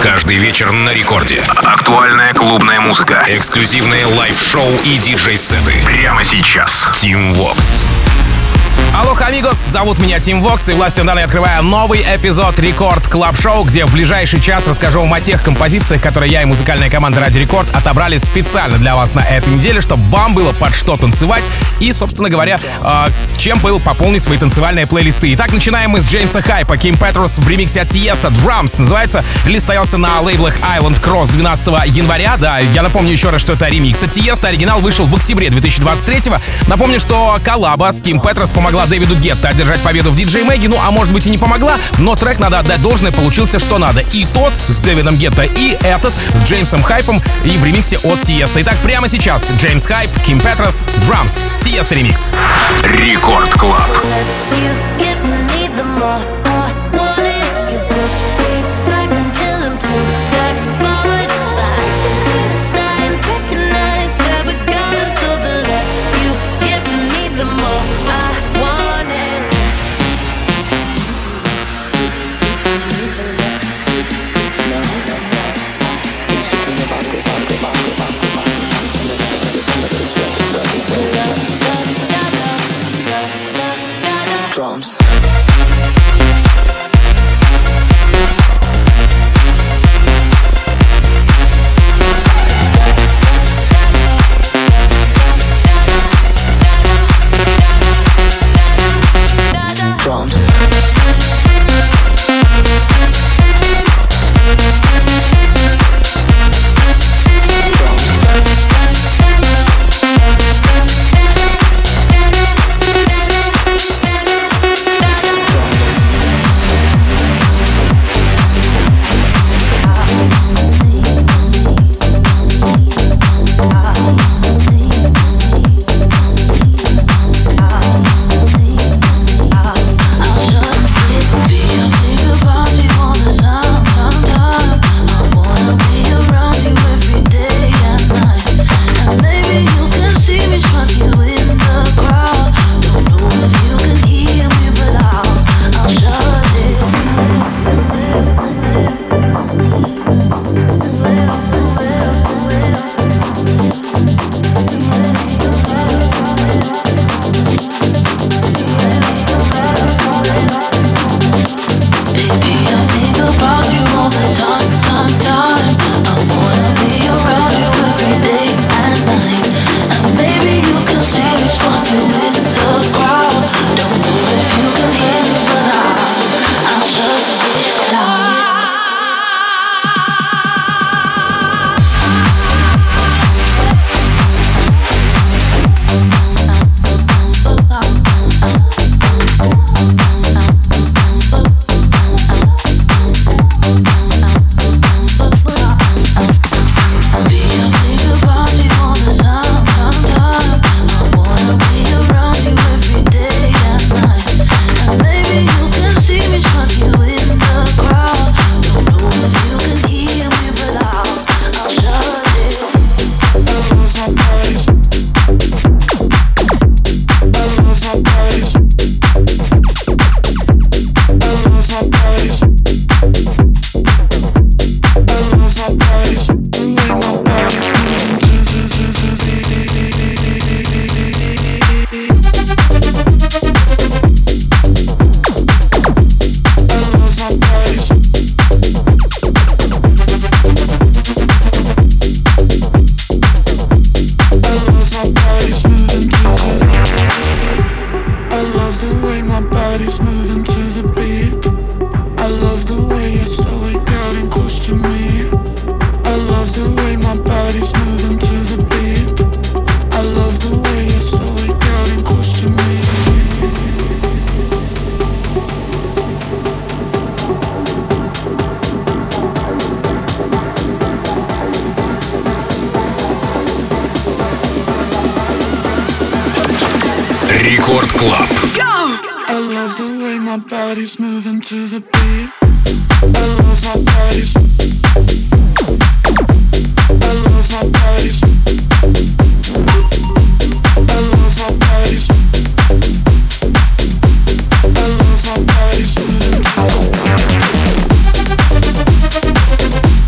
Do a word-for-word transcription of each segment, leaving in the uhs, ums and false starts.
Каждый вечер на рекорде. Актуальная клубная музыка. Эксклюзивные лайв-шоу и диджей-сеты. Прямо сейчас. Team Vox. Алло, амигос, зовут меня Тим Вокс, и властью данной открываю новый эпизод Рекорд Клаб Шоу, где в ближайший час расскажу вам о тех композициях, которые я и музыкальная команда Радио Рекорд отобрали специально для вас на этой неделе, чтобы вам было под что танцевать и, собственно говоря, э, чем был пополнить свои танцевальные плейлисты. Итак, начинаем мы с Джеймса Хайпа, Ким Петрос в ремиксе от Тиеста, Drums называется. Релиз стоялся на лейблах Island Cross двенадцатого января. Да, я напомню еще раз, что это ремикс от Тиеста. Оригинал вышел в октябре две тысячи двадцать третьего. Напомню, что коллаба с Ким Петрос помогла Дэвиду Гетто одержать победу в диджей Мэги, ну а может быть и не помогла, но трек, надо отдать должное, получился что надо. И тот с Дэвидом Гетто, и этот с Джеймсом Хайпом и в ремиксе от Тиеста. Итак, прямо сейчас Джеймс Хайп, Ким Петрос, Drums, Тиеста ремикс. Рекорд Клаб. Drums. Drums. Рекорд Клаб. I love the way my body's moving to the beat. I love my body's. I love my body's. I love my body's. I love my body's moving to the beat.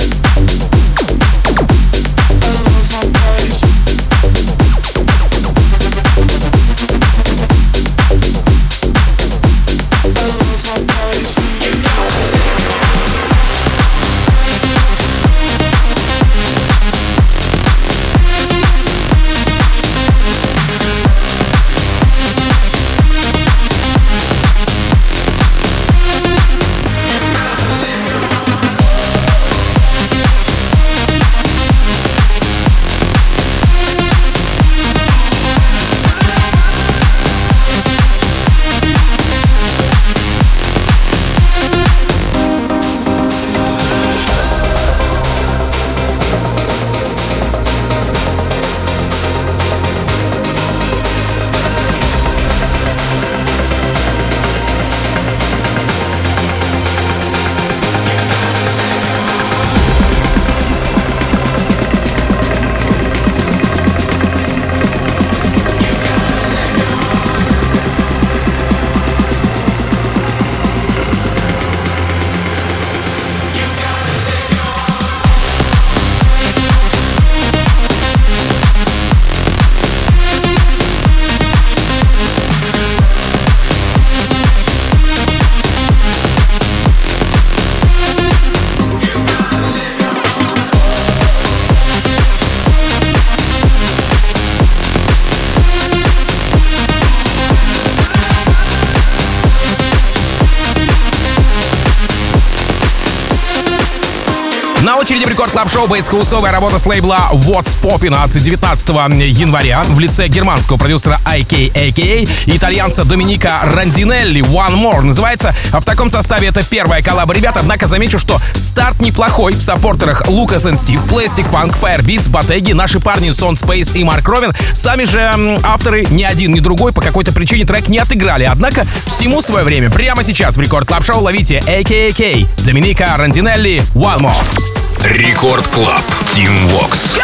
На очереди в Рекорд Клаб Шоу бейс-хаусовая работа с лейбла What's Poppin' от девятнадцатого января в лице германского продюсера ай кей эй кей эй и итальянца Доминика Рандинелли One More. Называется в таком составе это первая коллаба ребят, однако замечу, что старт неплохой. В саппортерах Лукас и Стив, Plastic Funk, Firebeats, Bottegi, наши парни Сон Space и Марк Ровен. Сами же м, авторы ни один, ни другой по какой-то причине трек не отыграли. Однако всему свое время. Прямо сейчас в Рекорд Клаб Шоу ловите эй кей эй кей, Доминика Рандинелли One More. Рекорд Клаб, Team Vox.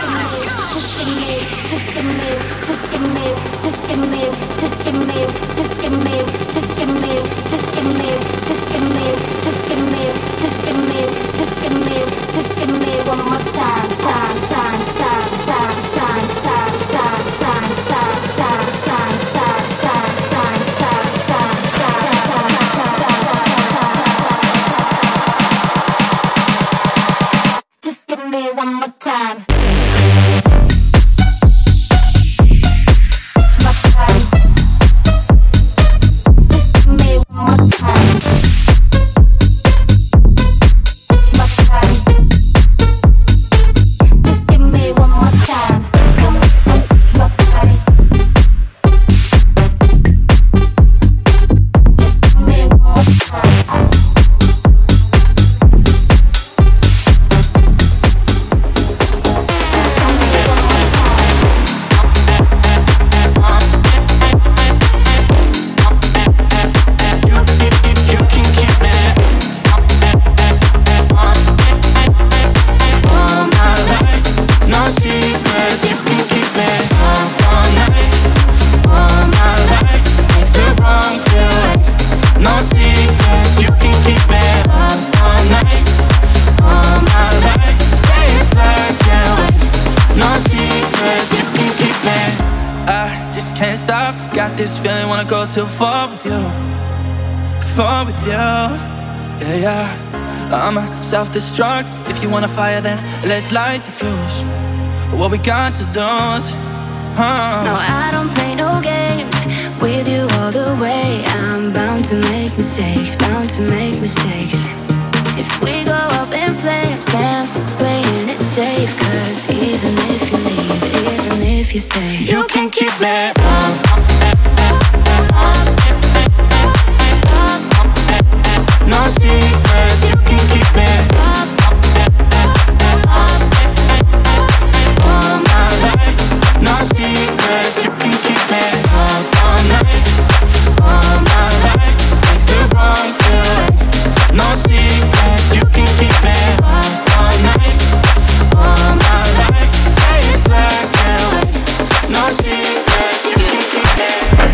Go too far with you, far with you, yeah, yeah. I'm a self-destruct. If you wanna fire, then let's light the fuse. What we got to do is, huh? No, I don't play no games with you all the way. I'm bound to make mistakes, bound to make mistakes. If we go up in flames, then for playing it safe. Cause even if you leave, even if you stay, you can keep me. No secrets, you can keep it. All my life, no secrets, you can keep it. All night, all my life, makes the wrong feeling. No secrets, you can keep it. All night, all my life, say it black and white. No secrets, you can keep it.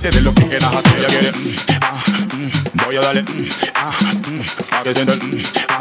Voy a darle, mm, ah, mm, pa' que sienta, mm, ah,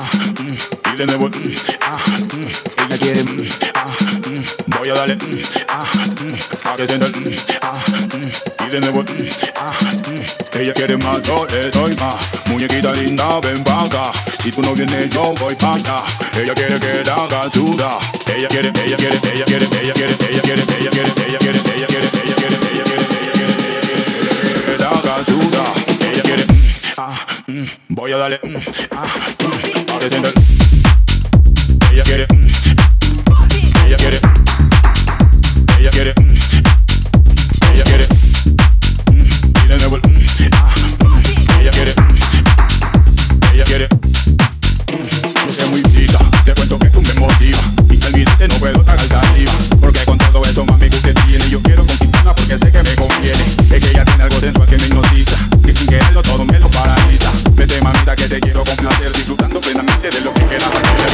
de nuevo, mm, ah, mm, ella quiere, mm, ah, mm, voy a darle, mm, ah, mm, para que sienta, mm, ah, mm, y de nuevo, mm, ah, mm, ella quiere más, yo le doy más. Muñequita linda, ven pa' acá. Si tú no vienes, yo voy pa' allá. Ella quiere que la haga sudar. Ella quiere, ella quiere, ella quiere, ella quiere, ella quiere, ella quiere, ella quiere, ella quiere, ella quiere, ella quiere, ella quiere, que la haga sudar. Ella quiere, ah, mm, voy a darle, mm, ah, mm, para que sienta. Ella quiere, ella quiere, ella quiere, ella quiere, y de nuevo, ah, ella quiere, ella quiere. Yo soy muy rica, te cuento que tú me motivas y te olvidaste, no puedo tragar saliva, porque con todo eso mami usted tiene. Yo quiero conquistarla porque sé que me conviene. Es que ella tiene algo sensual que me hipnotiza, que sin quererlo todo me lo paraliza. Vete mamita que te quiero complacer, disfrutando plenamente de lo que queda.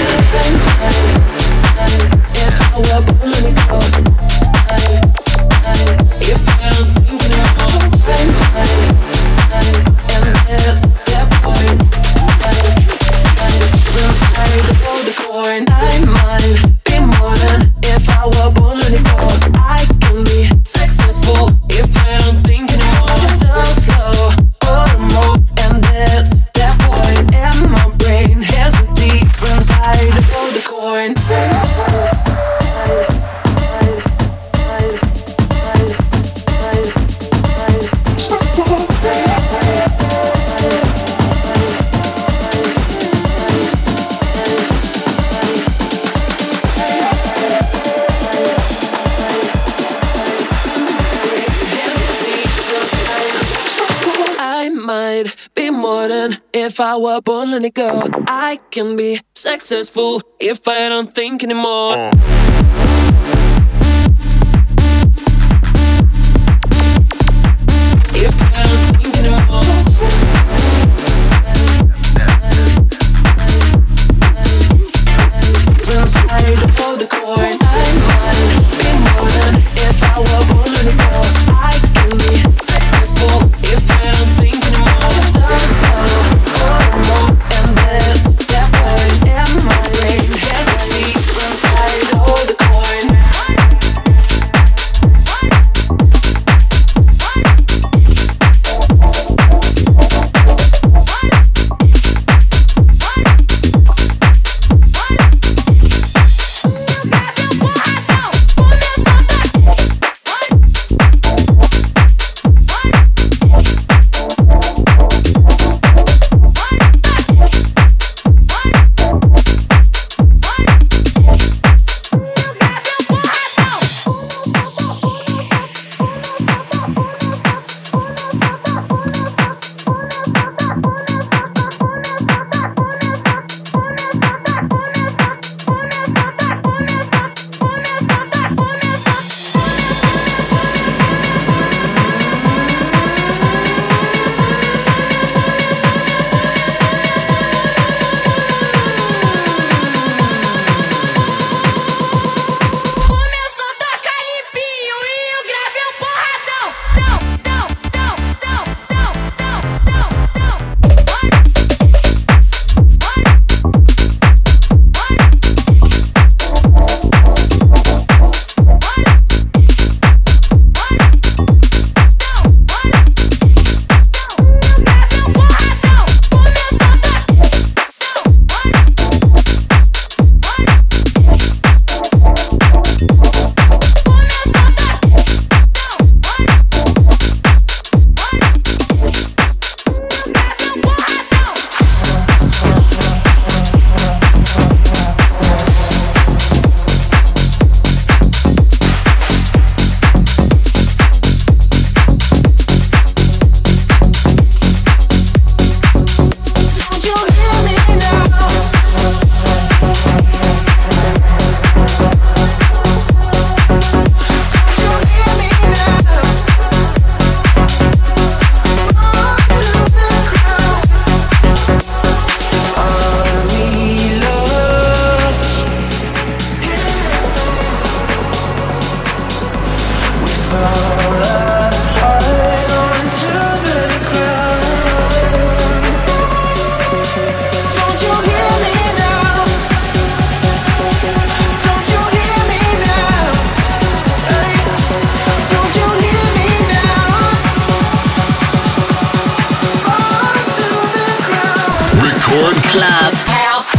If I were born on the go, if I don't think anymore, and there's that boy from side of the coin. I might be more than if I were born on the go. I can be successful if I don't think anymore. So slow, oh more, and there's that boy, and my brain has a different side of the coin. If I were born on the go, I can be successful if I don't think anymore. If I don't think anymore. From side of the coin, I might be more than if I were born on the go. I can be successful if I don't think anymore. So slow. And there's that boy, and my brain has a different side. Record Club House.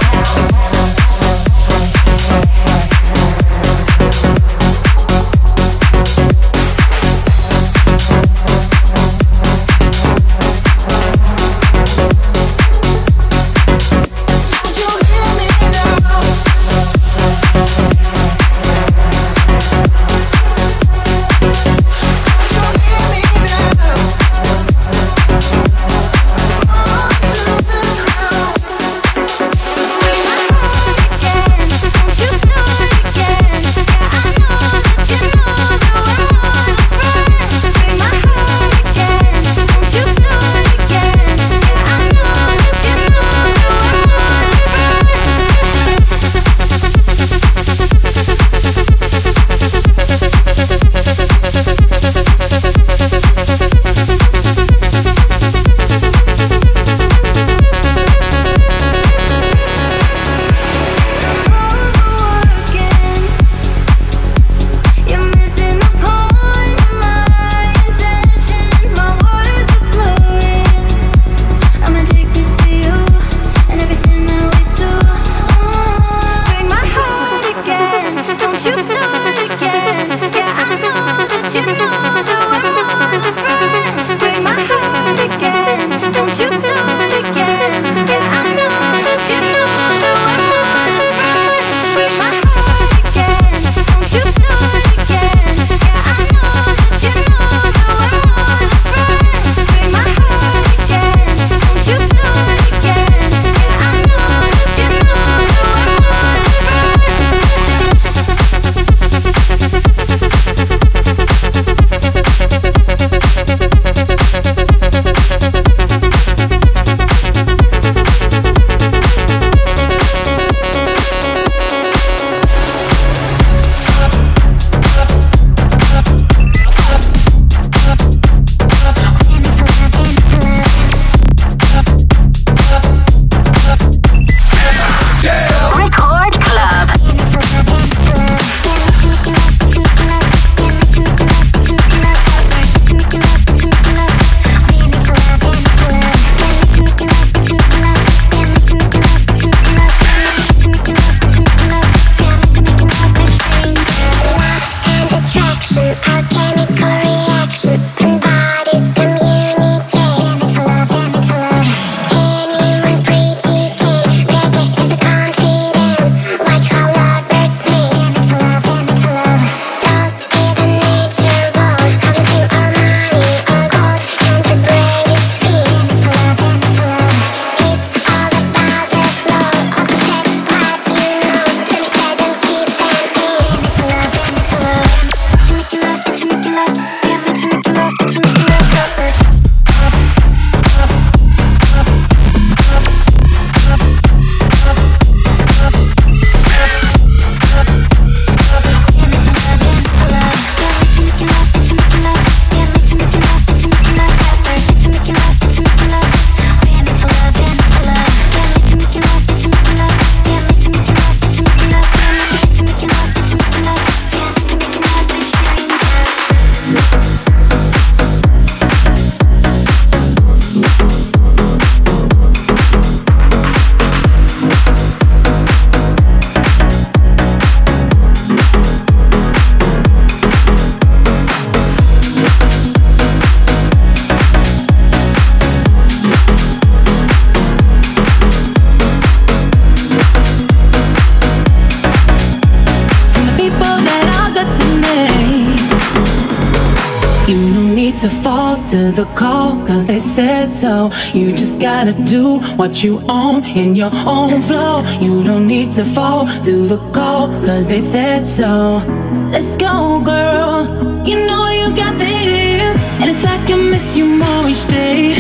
To fall to the call, cause they said so. You just gotta do what you own in your own flow. You don't need to fall to the call, cause they said so. Let's go, girl, you know you got this. And it's like I miss you more each day,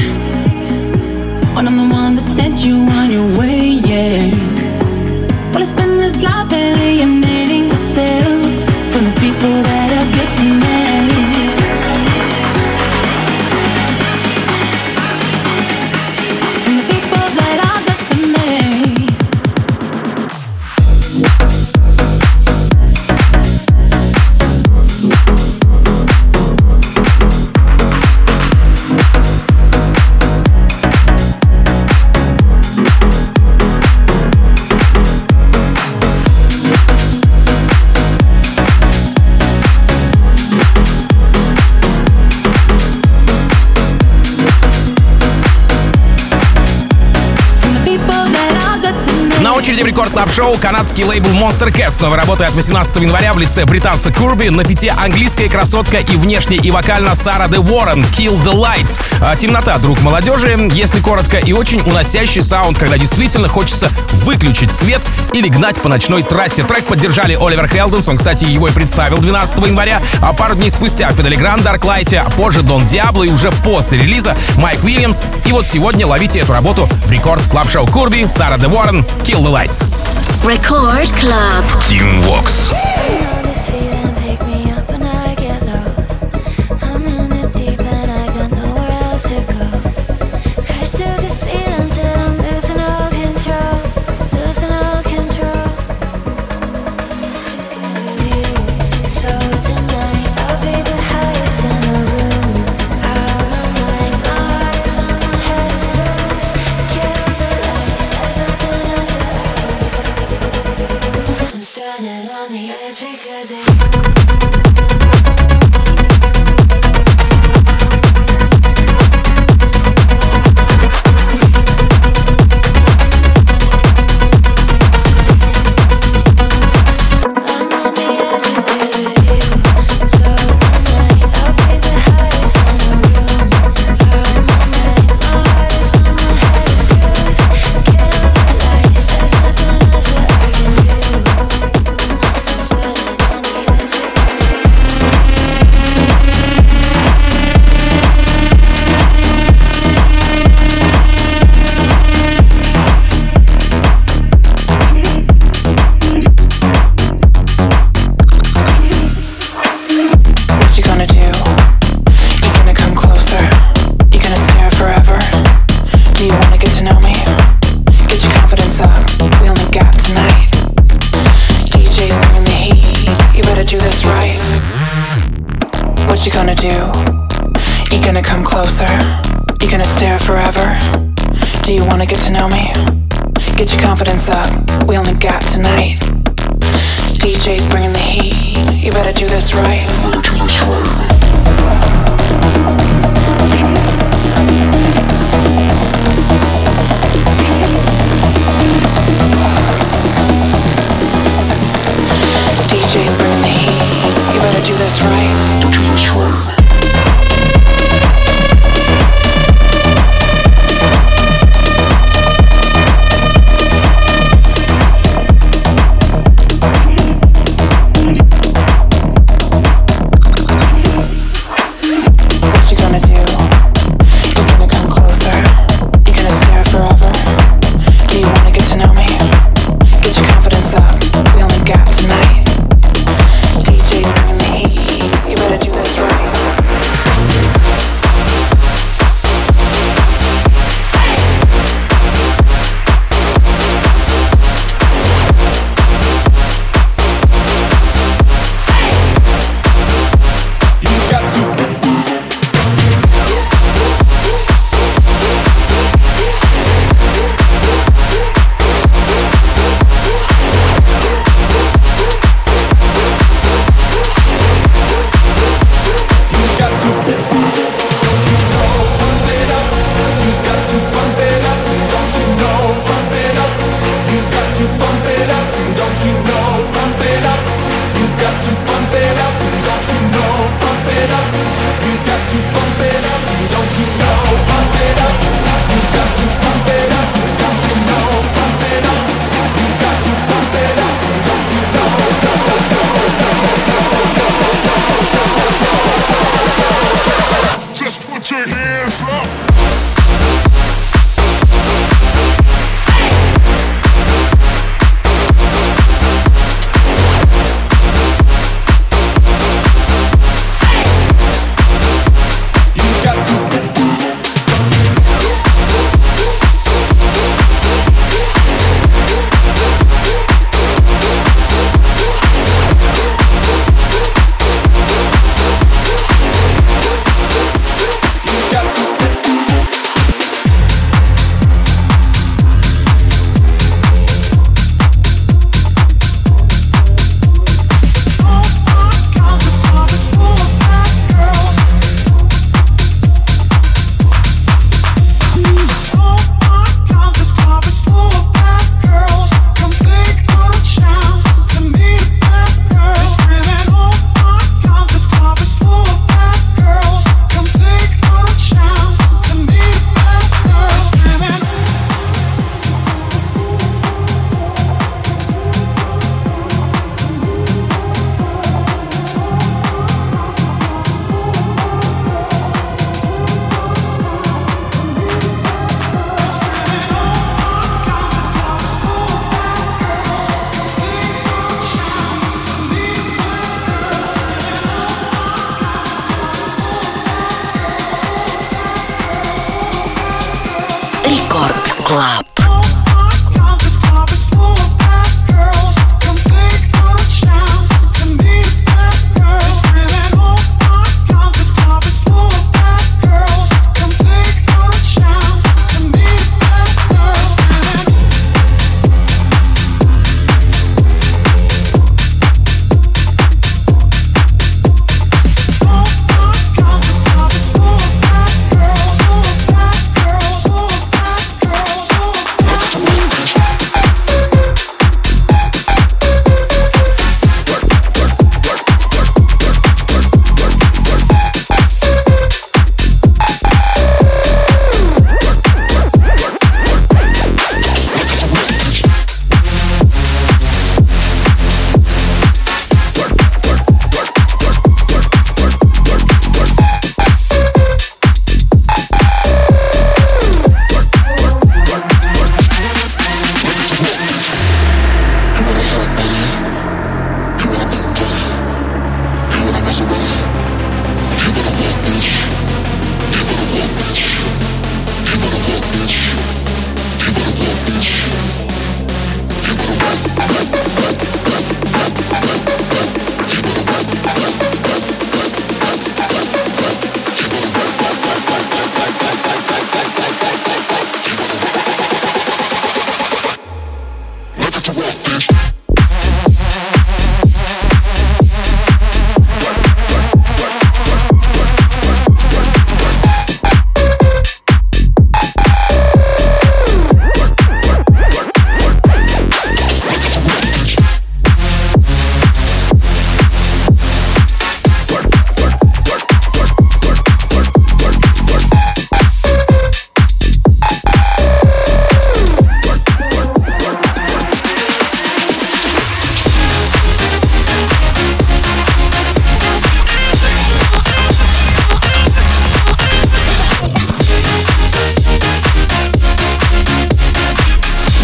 when I'm the one that sent you on your way, yeah. Well, it's been this life alienating myself from the people that are good to me. очереди в Рекорд Клаб Шоу канадский лейбл Monster Cat с новой работой от восемнадцатого января в лице британца Курби, на фите английская красотка и внешне и вокально Сара де Уоррен, Kill the Lights. А, темнота, друг молодежи, если коротко, и очень уносящий саунд, когда действительно хочется выключить свет или гнать по ночной трассе. Трек поддержали Оливер Хелденс, он, кстати, его и представил двенадцатого января, а пару дней спустя Фидели Гранд, Дарклайте, а позже Дон Диабло и уже после релиза Майк Уильямс. И вот сегодня ловите эту работу в Рекорд Клаб Шоу. Курби, Сара де Уоррен, Kill the Lights. Record Club. Team Vox. Standing on the edge because it What you gonna do? You gonna come closer? You gonna stare forever? Do you wanna get to know me? Get your confidence up, we only got tonight. D J's bringing the heat, you better do this right. D J's bringing the heat, you better do this right. Do this right.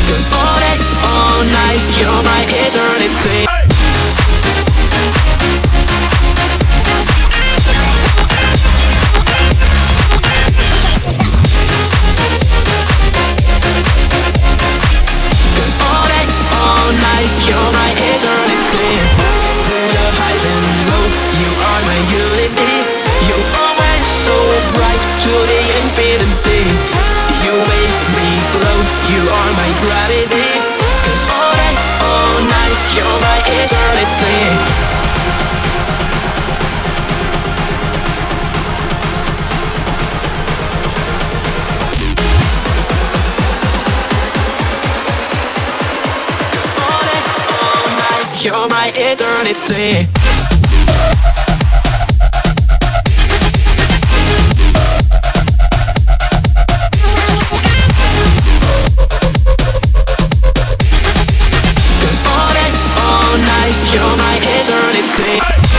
'Cause all day, all night, you're my eternity. You're my eternity. Through the highs and lows, you are my unity. You're always so bright to the infinity. You make me glow, you are my gravity. 'Cause all day, all night, you're my eternity. You're my eternity. Cause all day, all night, you're my eternity.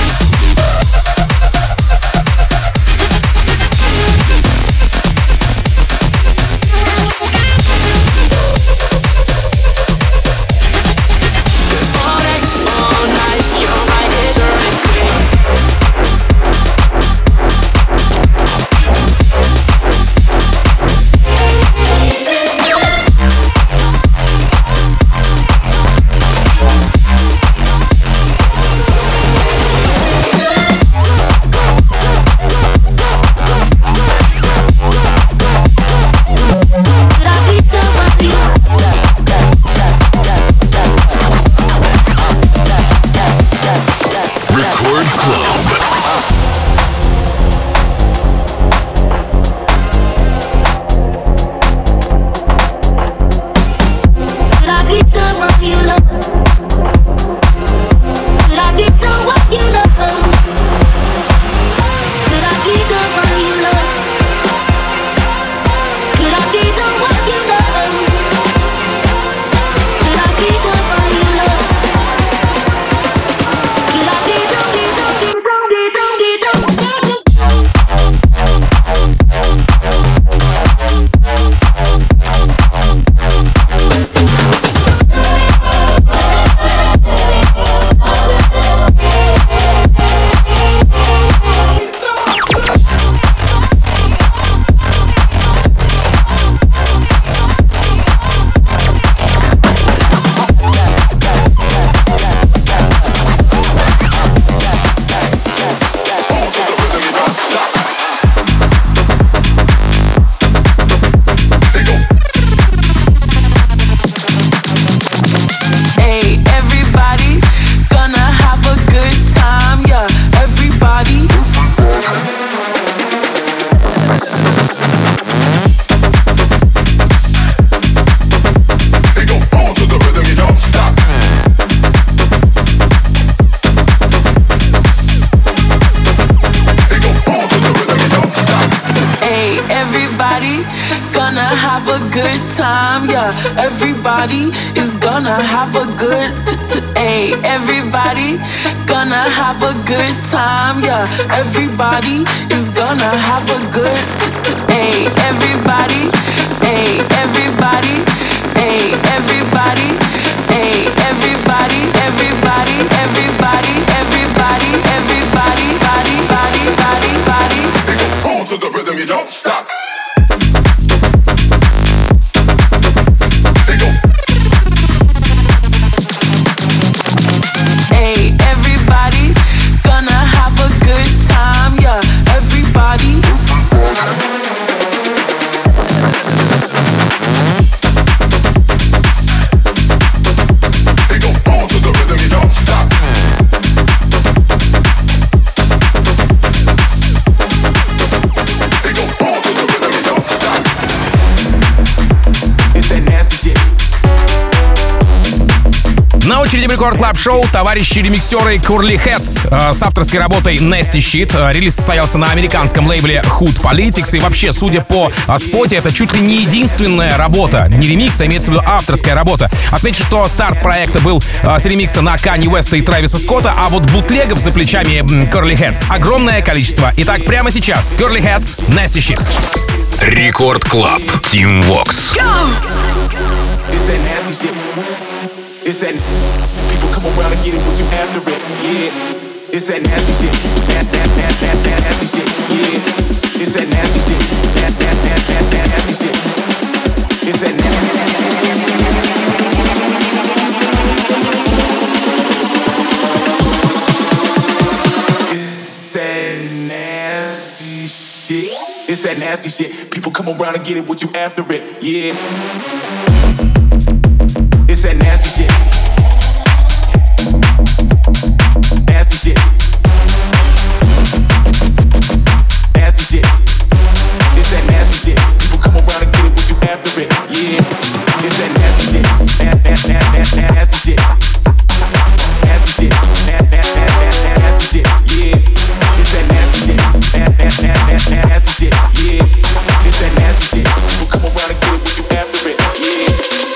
Everybody is gonna have a good Hey, everybody gonna have a good time, yeah. Everybody is gonna have a good Hey, everybody, hey, everybody, hey, everybody, hey, everybody, everybody, everybody, everybody, everybody, body, body, body, body. Hold to the rhythm, you don't stop. На очереди в Рекорд Клаб Шоу товарищи-ремиксеры Curly Heads э, с авторской работой Nasty Shit. Э, релиз состоялся на американском лейбле Hood Politics. И вообще, судя по э, споте, это чуть ли не единственная работа. Не ремикс, а имеется в виду авторская работа. Отмечу, что старт проекта был э, с ремикса на Канье Уэста и Трэвиса Скотта, а вот бутлегов за плечами э, Curly Heads огромное количество. Итак, прямо сейчас Curly Heads, Nasty Shit. Рекорд Клаб, Team Vox. This ain't nasty nasty shit. It's that people come around and get it what you after it. Yeah, it's that nasty shit. That that that that that nasty shit. Yeah, it's that nasty shit. That that that that that nasty shit. It's that nasty. It's that nasty shit. It's that nasty shit. People come around and get it what you after it. Yeah. It's that nasty shit. Nasty shit. Nasty shit. It's that nasty shit. People come around and get it what you after it. Yeah. It's that nasty shit. Nasty, nasty, nasty, nasty shit. Nasty shit. Nasty, nasty, nasty shit. Yeah. It's that nasty shit. Nasty, nasty, nasty shit. Yeah. It's that nasty shit. People come around and get it what you after it. Yeah.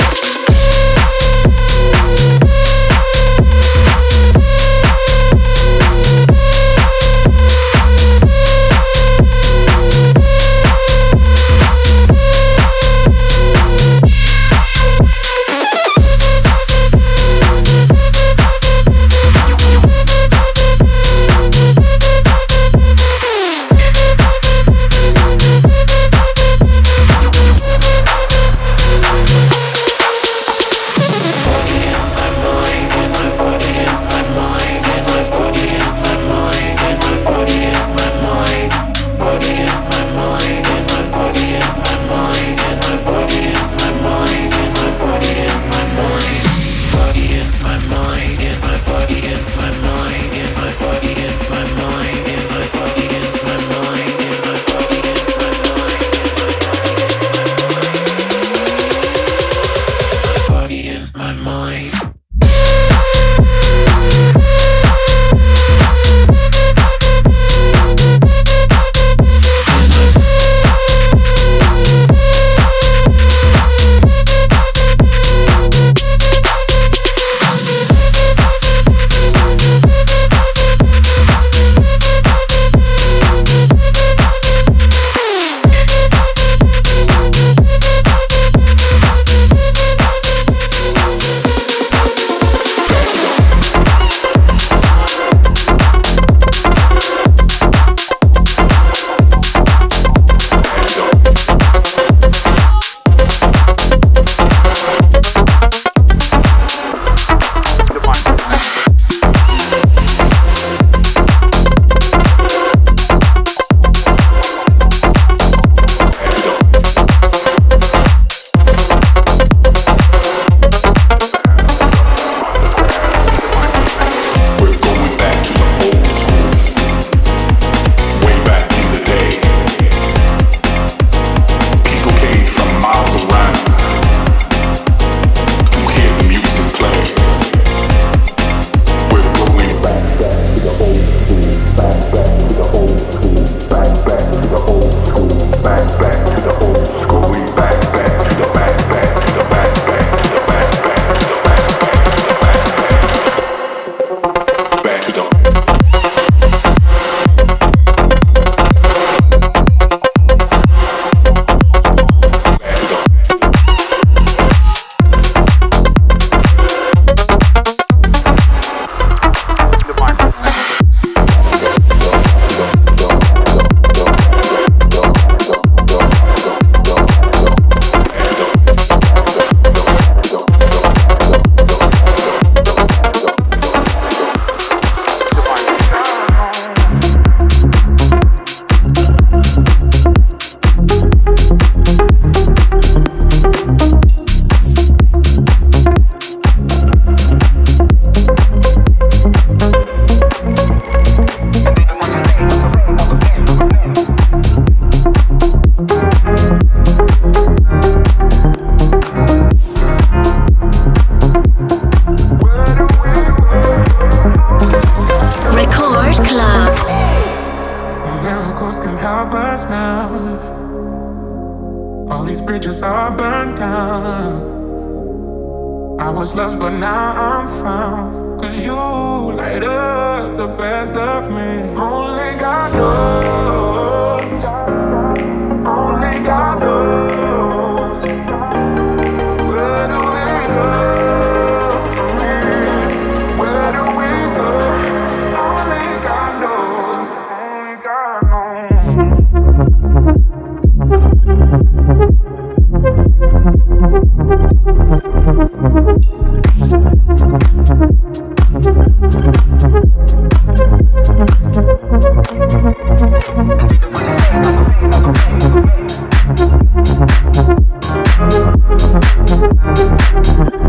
I was lost, but now I'm found. Cause you light up the best of me. Only God knows. Only God knows. Where do we go?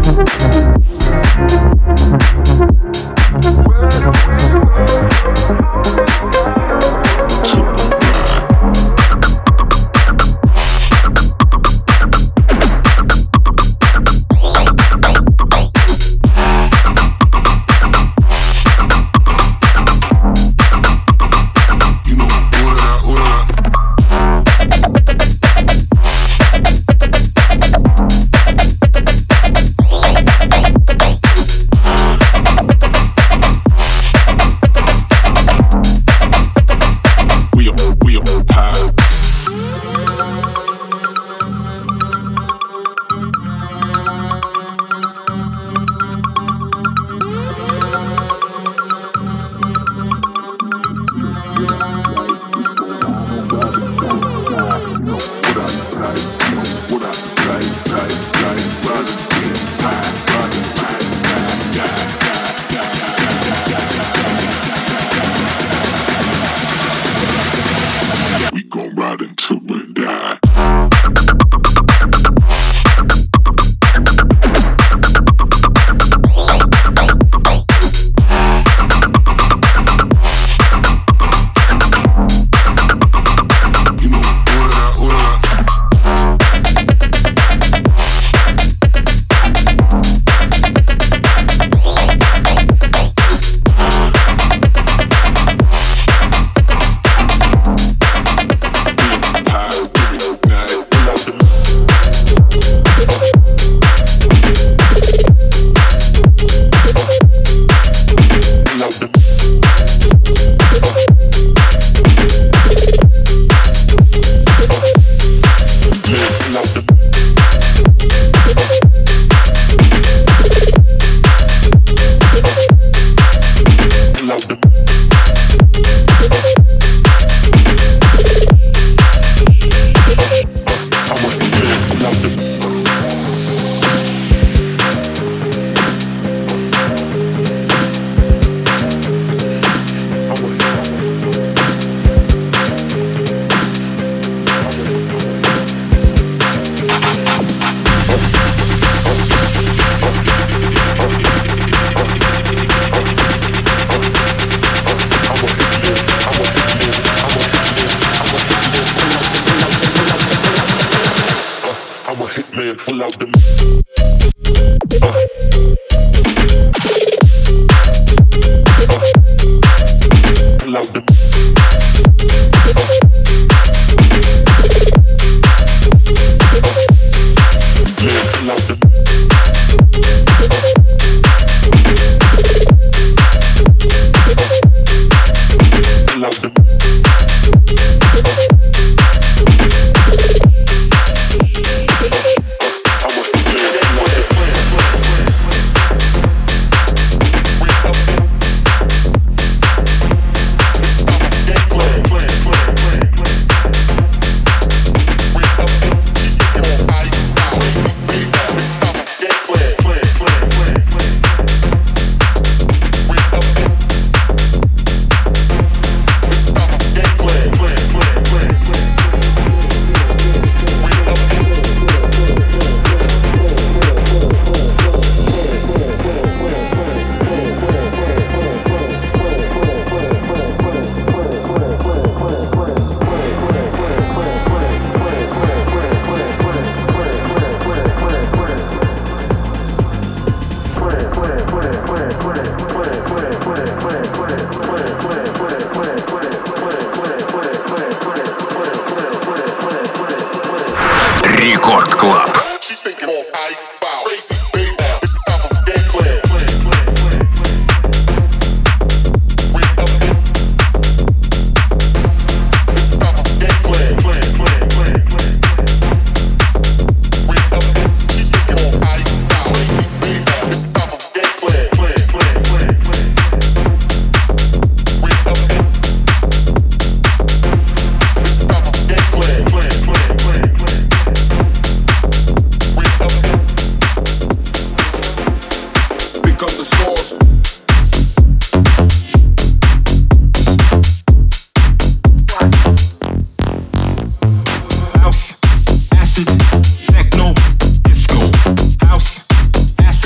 Acid, techno, disco, house, acid.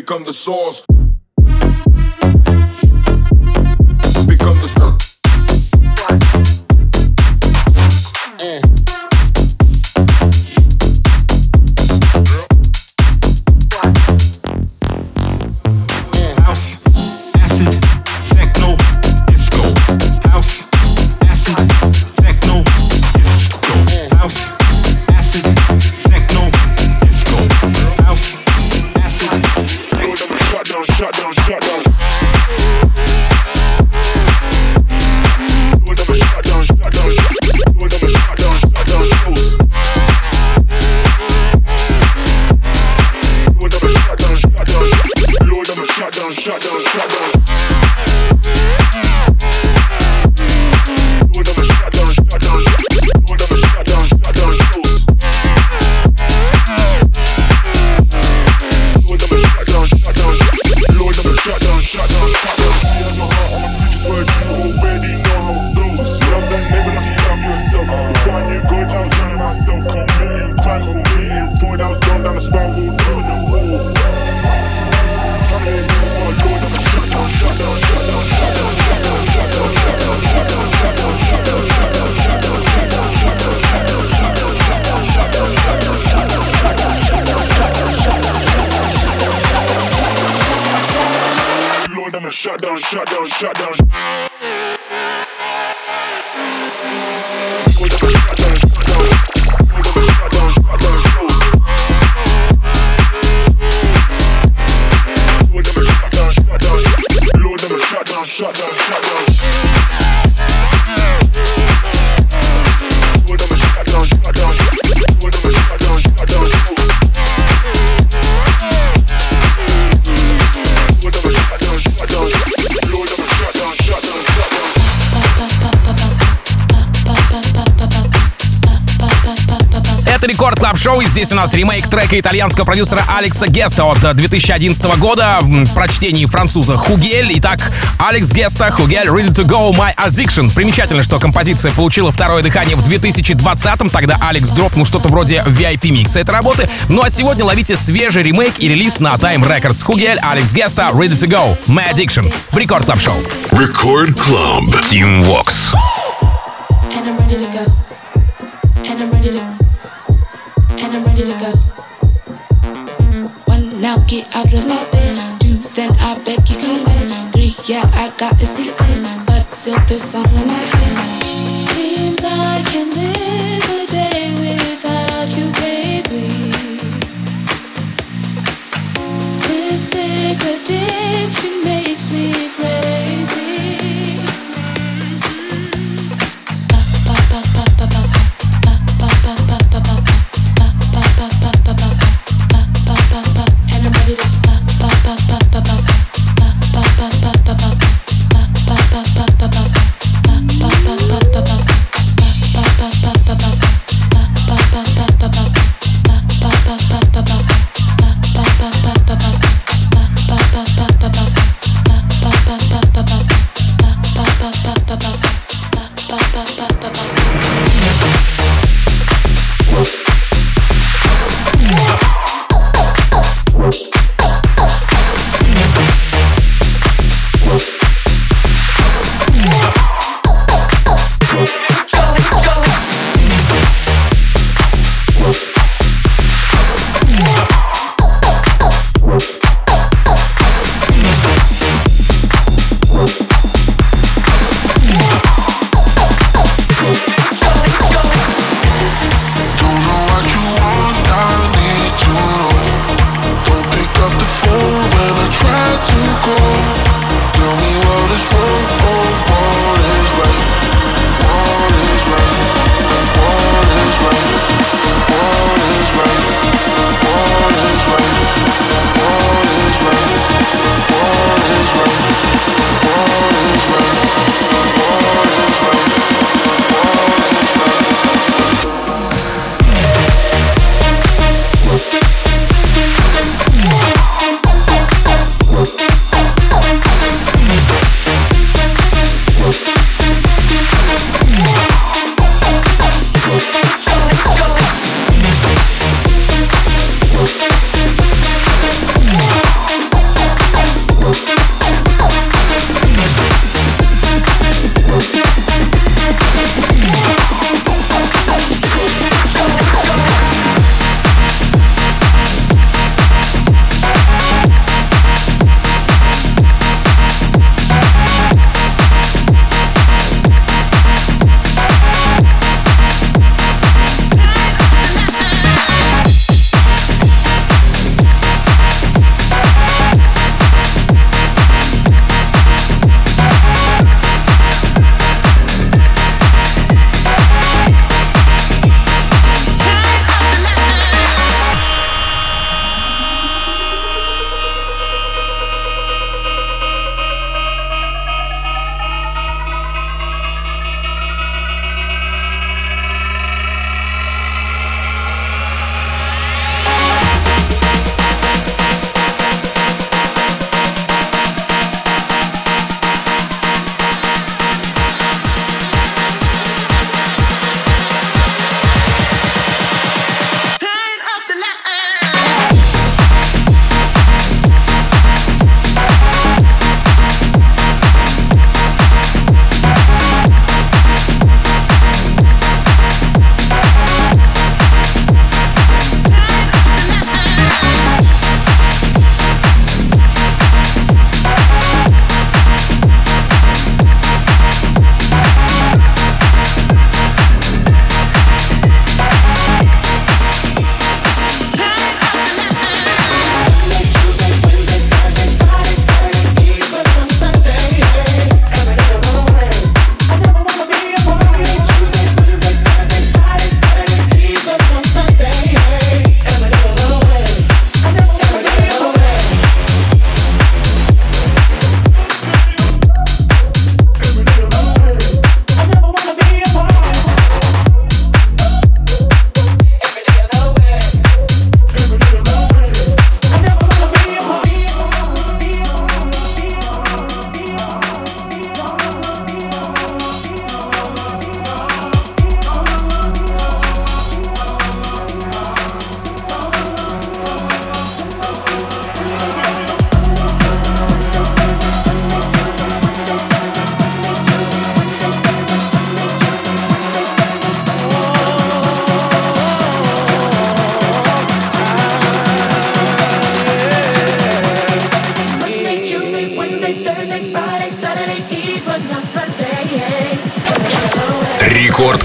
become the source. Become the source. Shutdown, shutdown, shutdown. Это Рекорд Клаб Шоу, и здесь у нас ремейк трека итальянского продюсера Алекса Геста от две тысячи одиннадцатого года в прочтении француза Хугель. Итак, Алекс Геста, Хугель, Ready to Go, My Addiction. Примечательно, что композиция получила второе дыхание в две тысячи двадцатом, тогда Алекс дропнул что-то вроде ви ай пи-микса этой работы. Ну а сегодня ловите свежий ремейк и релиз на Time Records. Хугель, Алекс Геста, Ready to Go, My Addiction в Рекорд Клаб Шоу. Рекорд Клаб, Team Vox. And I'm ready to go. And I'm ready to And I'm ready to go. One, now get out of my bed. Two, then I beg you come back. Three, yeah, I got a seat in, but still this song in my head. Seems I can live a day without you, baby. This sick addiction makes me crazy.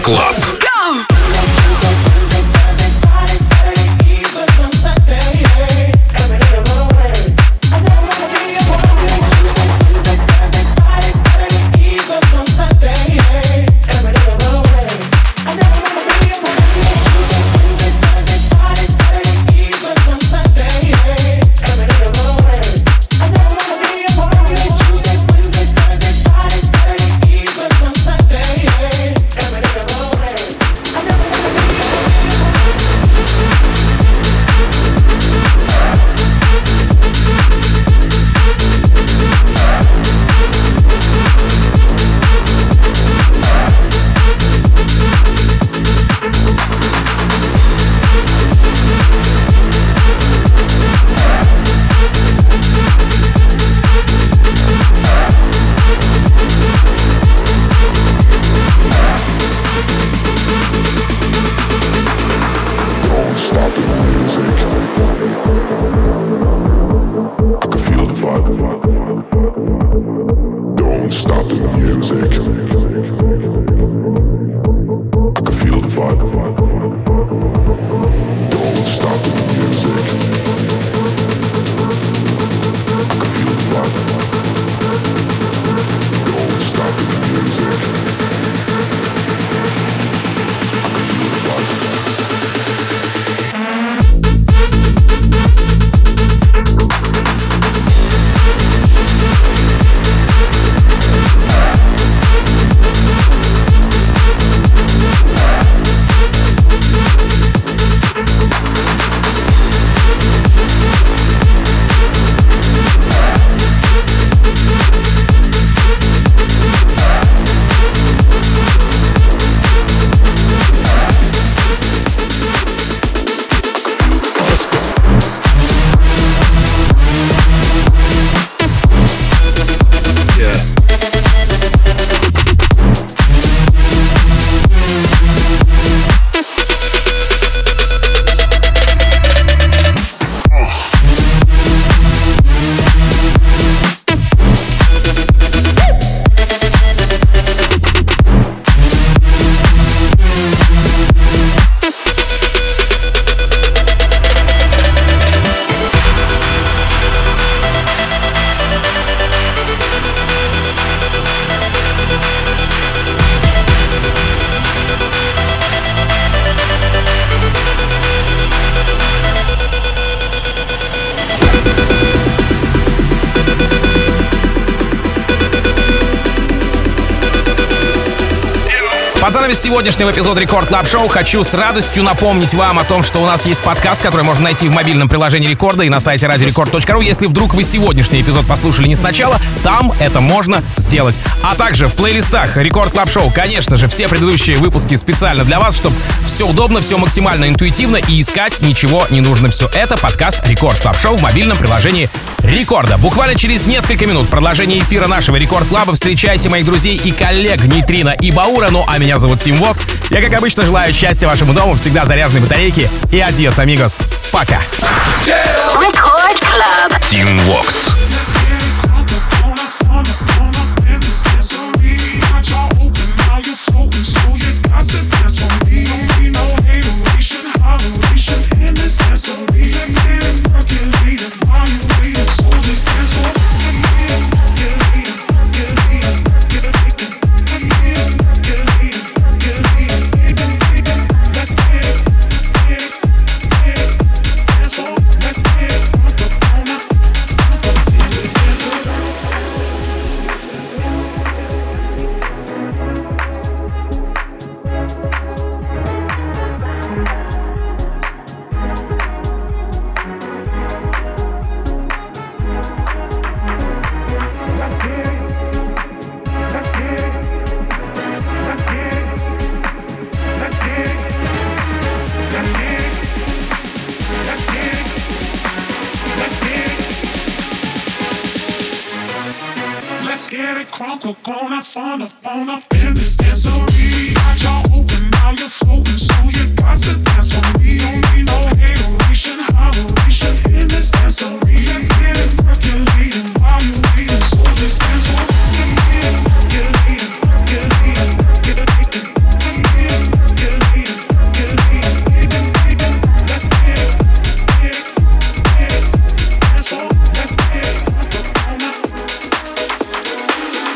Club. Под занавес сегодняшнего эпизода Рекорд Клаб Шоу хочу с радостью напомнить вам о том, что у нас есть подкаст, который можно найти в мобильном приложении Рекорда и на сайте радио рекорд точка ру. Если вдруг вы сегодняшний эпизод послушали не сначала, там это можно сделать. А также в плейлистах Рекорд Клаб Шоу, конечно же, все предыдущие выпуски специально для вас, чтобы все удобно, все максимально интуитивно и искать ничего не нужно. Все это подкаст Рекорд Клаб Шоу в мобильном приложении Рекорда. Буквально через несколько минут в продолжении эфира нашего Рекорд Клаба встречайте моих друзей и коллег Нейтрино и Баура. Ну а меня зовут Тим Вокс. Я, как обычно, желаю счастья вашему дому, всегда заряженной батарейки. И адьос, амигос. Пока. Record Club. Тим Вокс. Let's get it crunk, we're gonna fun up on up in this dancery.